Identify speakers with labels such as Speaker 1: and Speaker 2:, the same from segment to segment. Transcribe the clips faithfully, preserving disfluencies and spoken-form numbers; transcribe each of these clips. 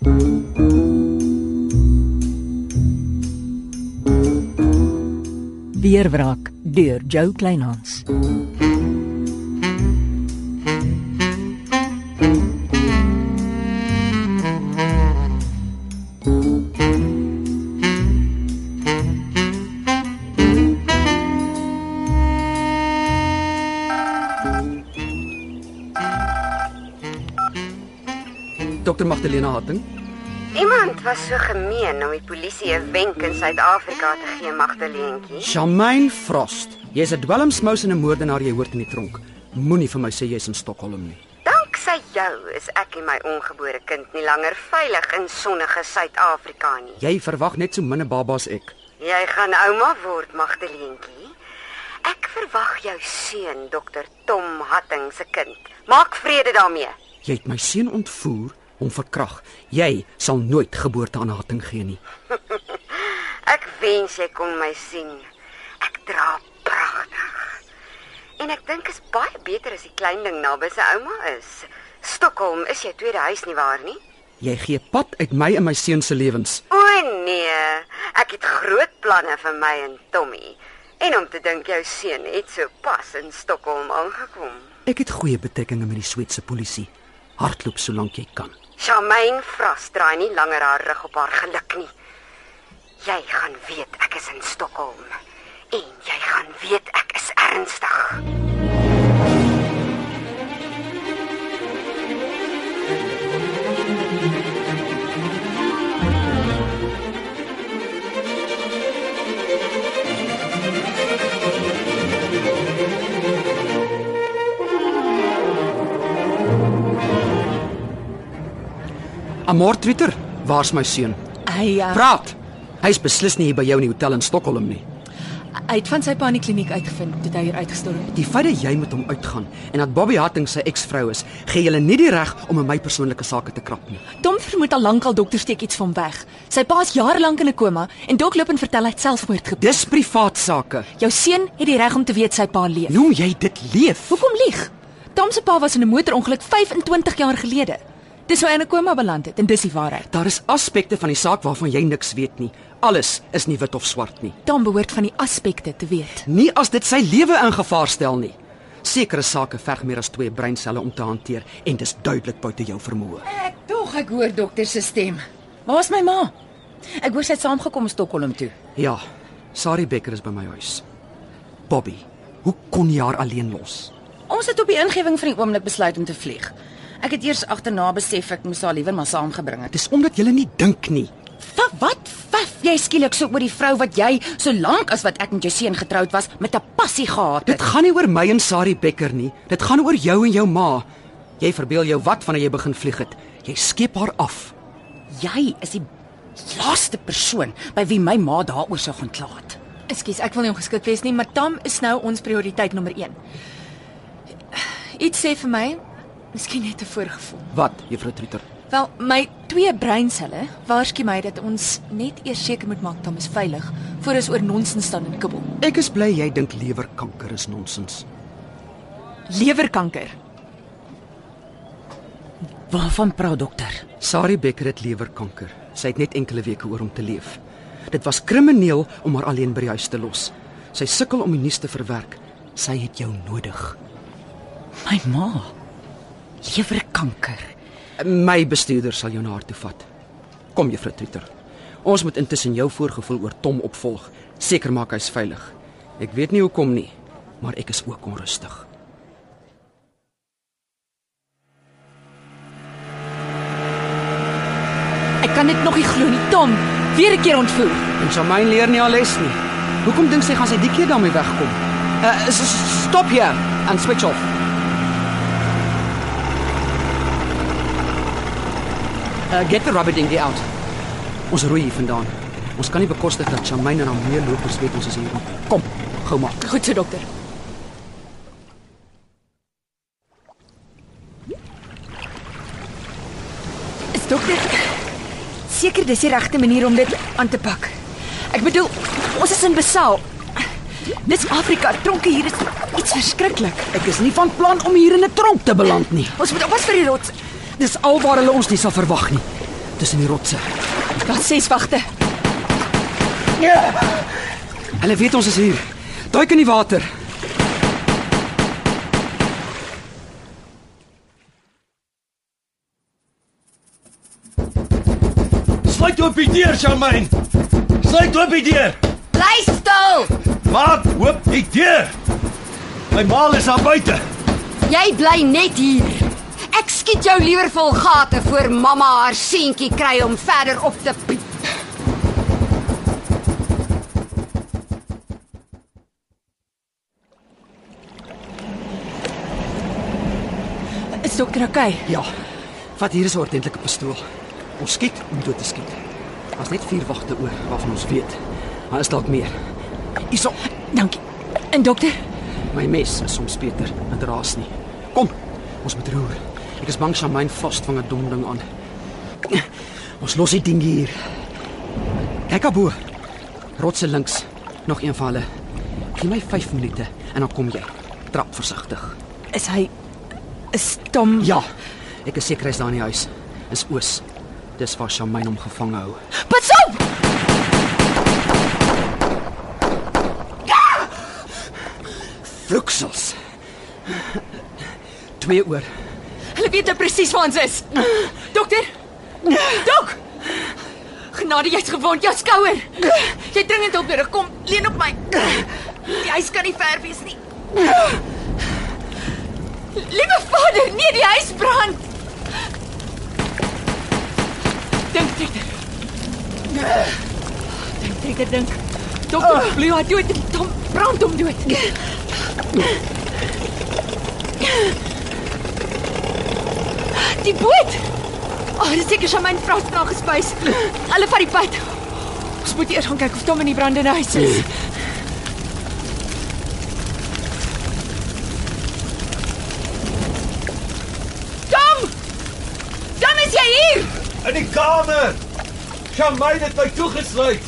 Speaker 1: Weerwraak deur Jo Kleinhans.
Speaker 2: Dokter Magdalena Hatting.
Speaker 3: Iemand was so gemeen om die polisie 'n wenk in Suid-Afrika te gee, Magdaleentjie.
Speaker 2: Charmaine Frost. Jy's 'n dwelmsmous en 'n moordenaar, jy hoort in die tronk. Moenie vir my sê jy's in Stockholm nie.
Speaker 3: Danksy jou is ek en my ongebore kind nie langer veilig in sonnige Suid-Afrika nie.
Speaker 2: Jy verwag net so min 'n baba as ek.
Speaker 3: Jy gaan ouma word, Magdaleentjie. Ek verwag jou seun, dokter Tom Hatting se kind. Maak vrede daarmee.
Speaker 2: Jy het my seun ontvoer, hom verkrag. Jy sal nooit geboorte aan Hatting gee nie.
Speaker 3: Ek wens jy kon my sien. Ek dra pragtig. En ek dink is baie beter as die klein ding naby sy ouma is. Stockholm is jou tweede huis nie waar nie?
Speaker 2: Jy gee pad uit my en my seun se lewens.
Speaker 3: O nee, ek het groot planne vir my en Tommy. En om te dink jou seun het so pas in Stockholm aangekom.
Speaker 2: Ek het goeie betrekkinge met die Sweedse polisie. Hardloop solank jy kan.
Speaker 3: Charmaine Frost draai nie langer haar rug op haar geluk nie. Jy gaan weet ek is in Stockholm. En jy gaan weet ek is ernstig.
Speaker 2: Amor Twitter, waar's my seun?
Speaker 1: Hy uh,
Speaker 2: Praat! Hy's beslis nie hier by jou in die hotel in Stockholm nie.
Speaker 1: hy het van sy pa in die kliniek uitgevind toe hy hier uitgestorm het.
Speaker 2: Die feit dat jy met hom uitgaan en dat Bobby Hatting sy eksvrou is, gee julle nie die reg om in my persoonlike sake te krap nie.
Speaker 1: Tom vermoed al lank al dokter steek iets van weg. Sy pa is jare lank in 'n koma en dok loop en vertel hy het selfmoord gepleeg.
Speaker 2: Dis privaat sake.
Speaker 1: Jou seun het die reg om te weet sy pa leef.
Speaker 2: Noem jy dit leef?
Speaker 1: Hoekom lieg? Tom se pa was in 'n motorongeluk vyf-en-twintig jaar gelede. Dis hoe hy in 'n koma beland het en dis die waarheid.
Speaker 2: Daar is aspekte van die saak waarvan jy niks weet nie. Alles is nie wit of swart nie.
Speaker 1: Tom behoort van die aspekte te weet.
Speaker 2: Nie as dit sy lewe in gevaar stel nie. Sekere sake verg meer as twee breinselle om te hanteer en dis duidelik buite jou vermoë.
Speaker 4: Ek tog ek hoor dokter se stem. Waar's my ma? Ek hoor sy het saamgekom Stockholm toe.
Speaker 2: Ja, Sari Becker is by my huis. Bobby, hoe kon jy haar alleen los?
Speaker 4: Ons het op die ingewing van die oomblik besluit om te vlieg. Ek het eers agterna besef ek moes haar liewer maar saamgebring het.
Speaker 2: Dis omdat jy nie dink nie.
Speaker 4: Wat wat vaf jy skielik so oor die vrou wat jy so lank as wat ek met jou seun getroud was met 'n passie gehad
Speaker 2: Dit
Speaker 4: het?
Speaker 2: gaan nie oor my en Sari Becker nie. Dit gaan oor jou en jou ma. Jy verbeel jou wat wanneer jy begin vlieg het. Jy skep haar af.
Speaker 4: Jy is die laaste persoon by wie my ma daaroor sou gaan kla het.
Speaker 1: Ekskuus, ek wil nie ongeskik wees nie, maar Tom is nou ons prioriteit nommer een. Iets sê vir my, miskien net 'n voorgevoel.
Speaker 2: Wat, juffrou Trieter?
Speaker 1: Wel, my twee breinselle waarsku my dat ons net eers seker moet maak Tom is veilig voor ons oor nonsens staan en kibbel.
Speaker 2: Ek is bly jy dink lewerkanker is nonsens.
Speaker 1: Lewerkanker.
Speaker 4: Waarvan praat dokter?
Speaker 2: Sari Becker het lewerkanker. Sy het net enkele weke oor om te leef. Dit was krimineel om haar alleen by die huis te los. Sy sukkel om die nuus te verwerk. Sy het jou nodig.
Speaker 4: My ma. Lewerkanker.
Speaker 2: My bestuurder sal jou na haar toe vat. Kom juffrou Trieter. Ons moet intussen jou voorgevoel oor Tom opvolg. Seker maak hy's veilig. Ek weet nie hoekom nie, maar ek is ook onrustig.
Speaker 1: Ek kan dit nog nie glo nie. Tom, weer 'n keer ontvoer.
Speaker 2: En Charmaine leer nie haar les nie. Hoekom dink sy gaan sy die keer daarmee wegkom? Uh, stop hier and switch off. Uh, get the rubber dinghy out. Ons roei hier vandaan. Ons kan nie bekostig dat Charmaine en haar meer lopers weet ons is hier. Kom, gou maak.
Speaker 1: Goed so, dokter. Is dokter seker dis die regte manier om dit aan te pak? Ek bedoel, ons is in Besaal. Dis Afrika, tronke hier is iets verskriklik.
Speaker 2: Ek is nie van plan om hier in 'n tronk te beland nie.
Speaker 1: Ons moet oppas vir die rots.
Speaker 2: Dis alwaar hulle ons nie sal verwag nie. tussen die rotse.
Speaker 1: Daar's ses wagte.
Speaker 2: Hulle weet ons is hier. Duik in die water.
Speaker 5: Sluit oop die deur, Charmaine. Sluit oop die deur.
Speaker 3: Bly stil.
Speaker 5: Maak oop die deur. My ma is daar buite.
Speaker 3: Jy bly net hier. Ek skiet jou liewer vol gate voor mamma haar seentjie kry om verder op te piep.
Speaker 1: Is dokter okay?
Speaker 2: Ja. Vat hier is 'n ordentlike pistool. Ons skiet om dood te skiet. Daar's net vier wagte oor waarvan ons weet. Maar is dalk meer. Hierso.
Speaker 1: Dankie. En dokter?
Speaker 2: My mes is soms beter, dit raas nie. Kom, ons moet roer. Ek is bang Charmaine Frost vang 'n dom ding aan. Ons los die ding hier. Kyk abo. Rotse links. Nog een van hulle. Gee my vyf minute en dan kom jy. Trap versigtig.
Speaker 1: Is hy is Tom?
Speaker 2: Ja. Ek is seker hy's daar in die huis. Is oos. Dis waar Charmaine hom gevang hou.
Speaker 1: Pas op!
Speaker 2: Vloeksels. Twee oor.
Speaker 1: Hulle weet nou presies waar ons is. Dokter? Dok! Genade, jy's gewond, jou skouer. Jy dringend hulp nodig. Kom, leun op my. Die huis kan nie ver wees nie. Liewe Vader, nee, die huis brand. Dink, dokter. Dink, dokter, dink. Dokter, bloei haar dood. Tom brand hom dood. Die boot! Oh, dis seker Charmaine Frost na gespuis. Hulle vat die pad. Ons moet eers gaan kyk of Tom in die brandende huis is. Tom! Tom, is jy hier?
Speaker 5: In die kamer. Charmaine het my toegesluit.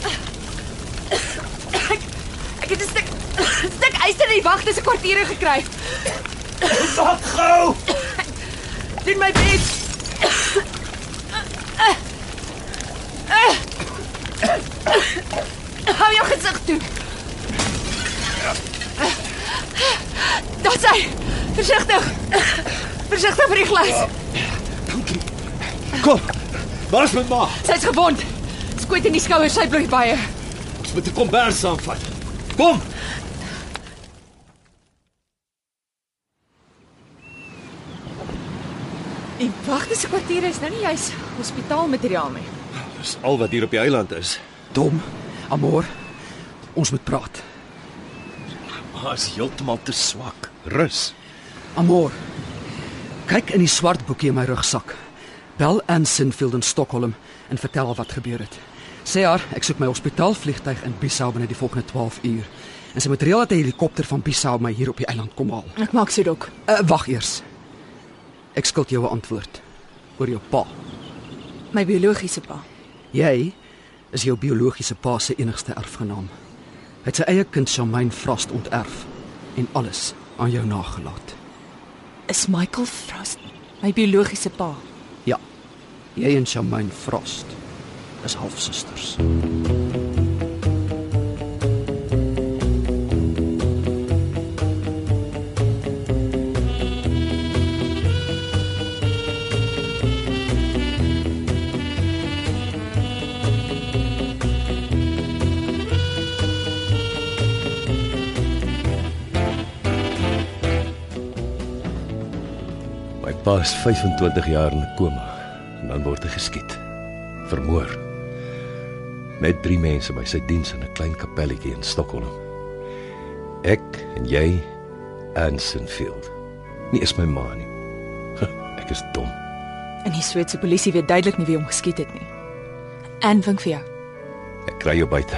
Speaker 1: Ek, ek het 'n stuk stuk yster in die wagte se kwartiere gekry.
Speaker 5: Maak gou.
Speaker 1: Doen my bes. Hou jou gesig toe. Daar's hy. Versigtig. Versigtig vir die glas.
Speaker 5: Kom. Waar's met ma?
Speaker 1: Sy's gewond. Skoot in die skouer, sy bloei baie.
Speaker 5: Ons moet 'n kombers saamvat. Kom.
Speaker 1: Die wagte se kwartiere is nou nie juis hospitaalmateriaal nie.
Speaker 5: Dis al wat hier op die eiland is.
Speaker 2: Tom, Amor, ons moet praat.
Speaker 5: Ma is heeltemal te swak. Rus.
Speaker 2: Amor, kyk in die swart boekie in my rugsak. Bel Anne Sinfield in Stockholm en vertel haar wat gebeur het. Sê haar, ek soek my hospitaalvliegtuig in Bissau binne die volgende twaalf uur. En sy moet reël dat 'n helikopter van Bissau my hier op die eiland kom haal.
Speaker 1: Ek maak so dok.
Speaker 2: Uh, wag eers. Ek skuld jou 'n antwoord oor jou pa.
Speaker 1: My biologiese pa.
Speaker 2: Jy is jou biologiese pa se enigste erfgenaam. Hy het sy eie kind Charmaine Frost onterf en alles aan jou nagelaat.
Speaker 1: Is Michael Frost my biologiese pa?
Speaker 2: Ja. Jy en Charmaine Frost is halfsusters.
Speaker 5: My pa is vyfentwintig jaar in 'n koma en dan word hy geskiet. Vermoor. Met drie mense by sy diens in 'n klein kapelletjie in Stockholm. Ek en jy, Anne Sinfield. Nie is my ma nie. Ek is dom.
Speaker 1: En die Sweedse polisie weet duidelik nie wie hom geskiet het nie. En vink vir jou.
Speaker 5: Ek kry jou buite.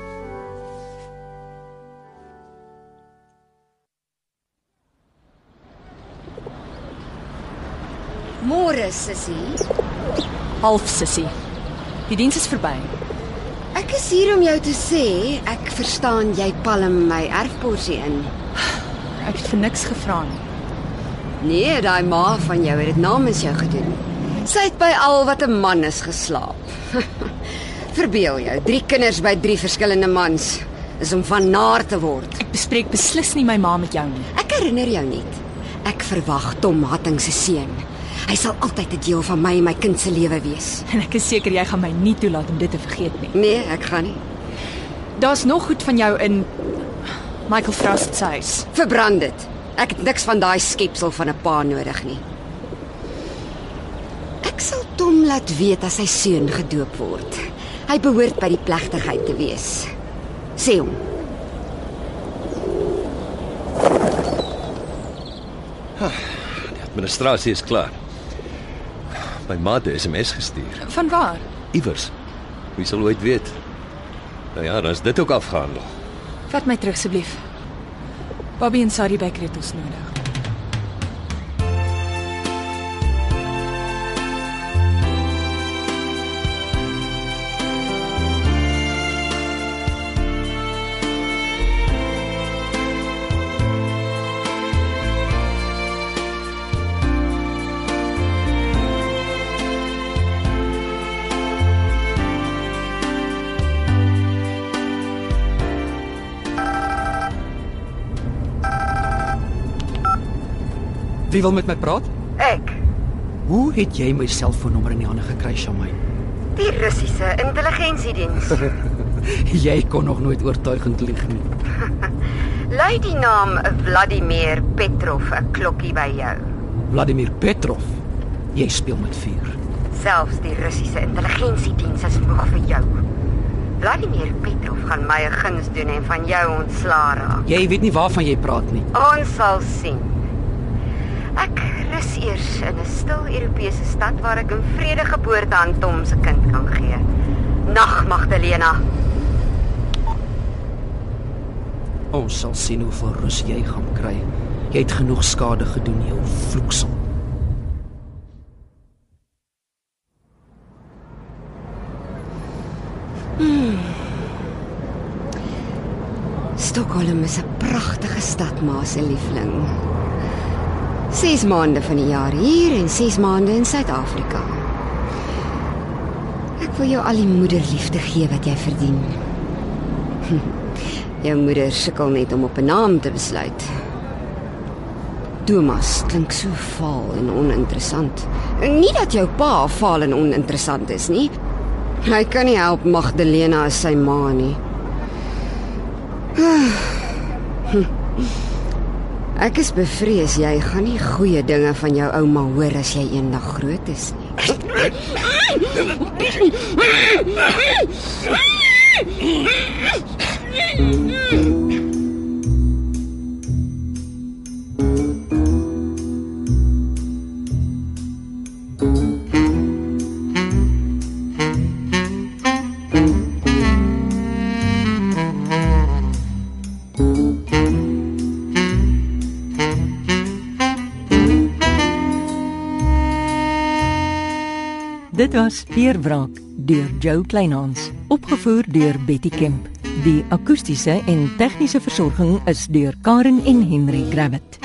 Speaker 3: Môre, sussie.
Speaker 1: Half sussie. Die diens is verby.
Speaker 3: Ek is hier om jou te sê, ek verstaan jy palm my erfporsie in.
Speaker 1: Ek het vir niks gevra nie.
Speaker 3: Nee, daai ma van jou het dit namens jou gedoen. Sy het by al wat 'n man is geslaap. Verbeel jou, drie kinders by drie verskillende mans is om van naar te word.
Speaker 1: Ek bespreek beslis nie my ma met jou nie.
Speaker 3: Ek herinner jou net. Ek verwag Tom Hatting se seun. Hy sal altyd 'n deel van my en my kind se lewe wees.
Speaker 1: En ek is seker jy gaan my nie toelaat om dit te vergeet nie.
Speaker 3: Nee, ek gaan nie.
Speaker 1: Daar's nog goed van jou in Michael Frost se huis.
Speaker 3: Verbrand dit. Ek het niks van daai skepsel van 'n pa nodig nie. Ek sal Tom laat weet as sy seun gedoop word. Hy behoort by die plegtigheid te wees. Sê hom.
Speaker 5: Die administrasie is klaar. My ma het 'n S M S gestuur.
Speaker 1: Van waar?
Speaker 5: Iewers. Wie sal ooit weet? Nou ja, dan is dit ook afgehandel.
Speaker 1: Vat my terug asseblief. Bobby en Sadie Becker het ons nodig.
Speaker 2: Wie wil met my praat?
Speaker 3: Ek,
Speaker 2: Hoe het jy my selfoonnommer in die hande gekry, Shamaine?
Speaker 3: die Russiese intelligensiediens.
Speaker 2: Jy kon nog nooit oortuigend lieg nie.
Speaker 3: Lui die naam Vladimir Petrov 'n klokkie by jou.
Speaker 2: Vladimir Petrov. Jy speel met vuur.
Speaker 3: Selfs die Russiese intelligensiediens is moeg vir jou. Vladimir Petrov gaan my 'n guns doen en van jou ontslaa raak.
Speaker 2: Jy weet nie waarvan jy praat nie.
Speaker 3: Ons sal sien. Ek rus eers in 'n stil Europese stad waar ek in vrede geboorte aan Tom se kind kan gee. Nag, Magdalena.
Speaker 2: Ons sal sien hoeveel rus jy gaan kry. Jy het genoeg skade gedoen, jou vloeksel.
Speaker 3: Stockholm is 'n pragtige stad, ma se liefling. Ses maande van die jaar hier en ses maande in Suid-Afrika. Ek wil jou al die moederliefde gee wat jy verdien. Jou moeder sukkel net om op 'n naam te besluit. Thomas klink so vaal en oninteressant. Nie dat jou pa vaal en oninteressant is nie. Hy kan nie help Magdalena as sy ma nie. Ek is bevrees jy gaan nie goeie dinge van jou ouma hoor as jy eendag groot is nie.
Speaker 6: Dit was Veerwraak deur Jo Kleinhans, opgevoer deur Betty Kemp. Die akoestiese en tegniese versorging is deur Karen en Henry Gravett.